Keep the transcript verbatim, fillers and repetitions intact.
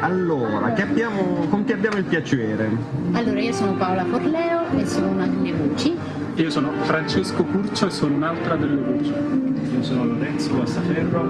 Allora, che abbiamo, con chi abbiamo il piacere? Allora, io sono Paola Forleo e sono una delle voci. Io sono Francesco Curcio e sono un'altra delle voci. Io sono Lorenzo Guastaferro